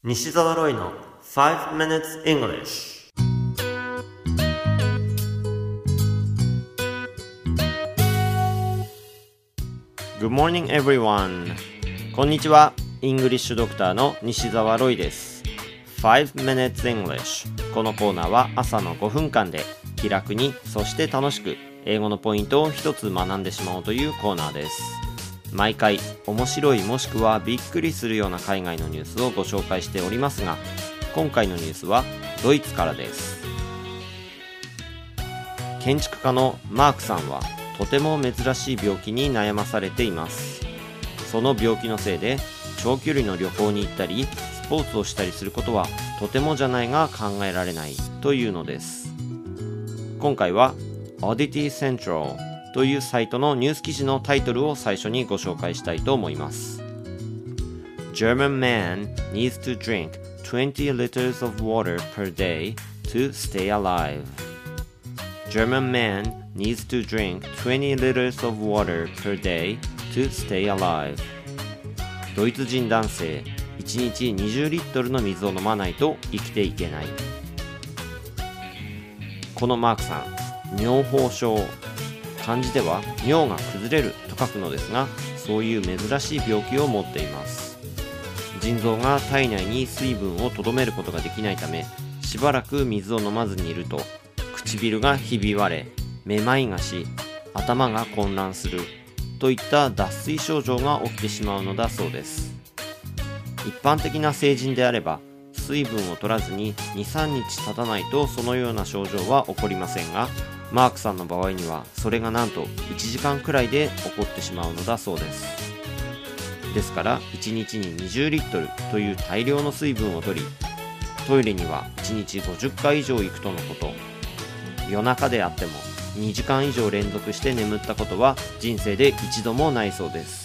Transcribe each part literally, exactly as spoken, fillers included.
西澤ロイの five minutes English。 Good morning everyone。 こんにちは。イングリッシュドクターの西澤ロイです。 five minutes English。 このコーナーは朝のごふんかんで気楽に、そして楽しく英語のポイントを一つ学んでしまおうというコーナーです。毎回面白いもしくはびっくりするような海外のニュースをご紹介しておりますが、今回のニュースはドイツからです。建築家のマークさんはとても珍しい病気に悩まされています。その病気のせいで長距離の旅行に行ったりスポーツをしたりすることはとてもじゃないが考えられないというのです。今回は Oddity Centralというサイトのニュース記事のタイトルを最初にご紹介したいと思います。 German man needs to drink twenty liters of water per day to stay alive. German man needs to drink twenty liters of water per day to stay alive. ドイツ人男性いちにちにじゅうリットルの水を飲まないと生きていけない。このマークさん、尿崩症、漢字では尿が崩れると書くのですが、そういう珍しい病気を持っています。腎臓が体内に水分を留めることができないため、しばらく水を飲まずにいると唇がひび割れ、めまいがし、頭が混乱するといった脱水症状が起きてしまうのだそうです。一般的な成人であれば水分を取らずに にさんにち経たないとそのような症状は起こりませんが、マークさんの場合にはそれがなんといちじかんくらいで起こってしまうのだそうです。ですからいちにちににじゅうリットルという大量の水分を取り、トイレにはいちにちごじゅっかい以上行くとのこと。夜中であってもにじかん以上連続して眠ったことは人生で一度もないそうです。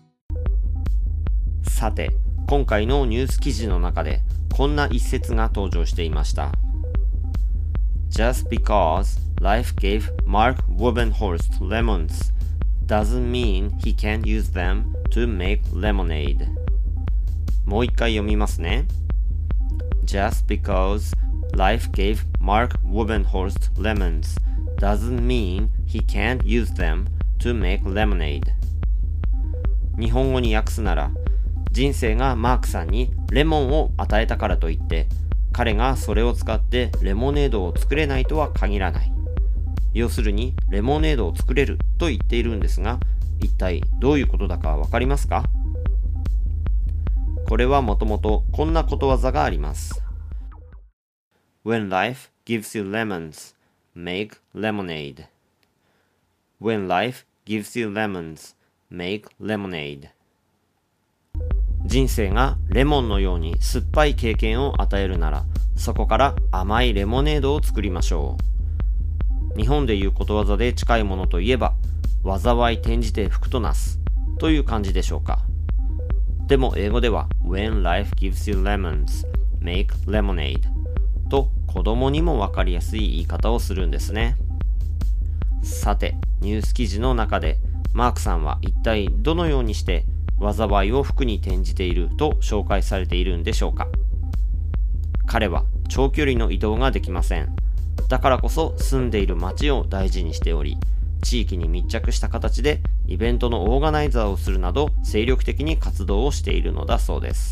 さて、今回のニュース記事の中でこんな一節が登場していました。Just because life gave Mark Wubbenhorst lemons doesn't mean he can't use them to make lemonade. もう一回読みますね。Just because life gave Mark Wubbenhorst lemons doesn't mean he can't use them to make lemonade. 日本語に訳すなら、人生がマークさんにレモンを与えたからといって彼がそれを使ってレモネードを作れないとは限らない。要するにレモネードを作れると言っているんですが、一体どういうことだかわかりますか？これはもともとこんなことわざがあります。 When life gives you lemons, make lemonade. When life gives you lemons, make lemonade. 人生がレモンのように酸っぱい経験を与えるなら、そこから甘いレモネードを作りましょう。日本でいうことわざで近いものといえば、災い転じて福となすという感じでしょうか。でも英語では When life gives you lemons, make lemonade と子供にもわかりやすい言い方をするんですね。さて、ニュース記事の中でマークさんは一体どのようにして災いを福に転じていると紹介されているんでしょうか。彼は長距離の移動ができません。だからこそ住んでいる街を大事にしており、地域に密着した形でイベントのオーガナイザーをするなど精力的に活動をしているのだそうです。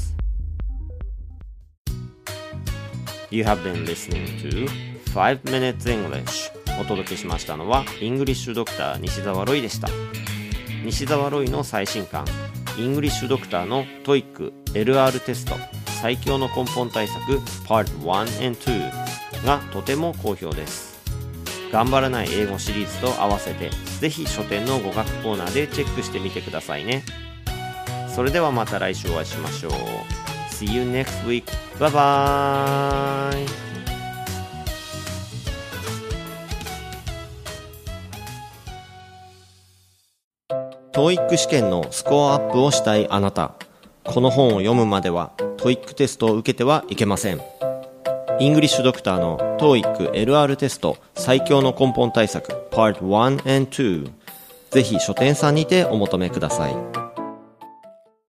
You have been listening to five minutes English。 お届けしましたのはイングリッシュドクター西澤ロイでした。西澤ロイの最新刊イングリッシュドクターの トイック エルアール テスト最強の根本対策 パートワン and ツー がとても好評です。頑張らない英語シリーズと合わせてぜひ書店の語学コーナーでチェックしてみてくださいね。それではまた来週お会いしましょう。 See you next week. Bye bye. トーイック 試験のスコアアップをしたいあなた、この本を読むまでは トーイック テストを受けてはいけません。イングリッシュドクターの トーイック エルアール テスト最強の根本対策 パートワン and ツー、 ぜひ書店さんにてお求めください。